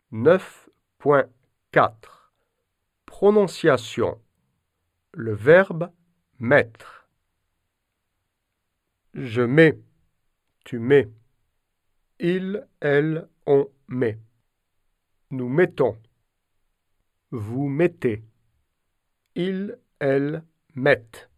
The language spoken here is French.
9.4 Prononciation. Le verbe mettre. Je mets, tu mets. Il, elle, on met. Nous mettons. Vous mettez. Ils, elles mettent.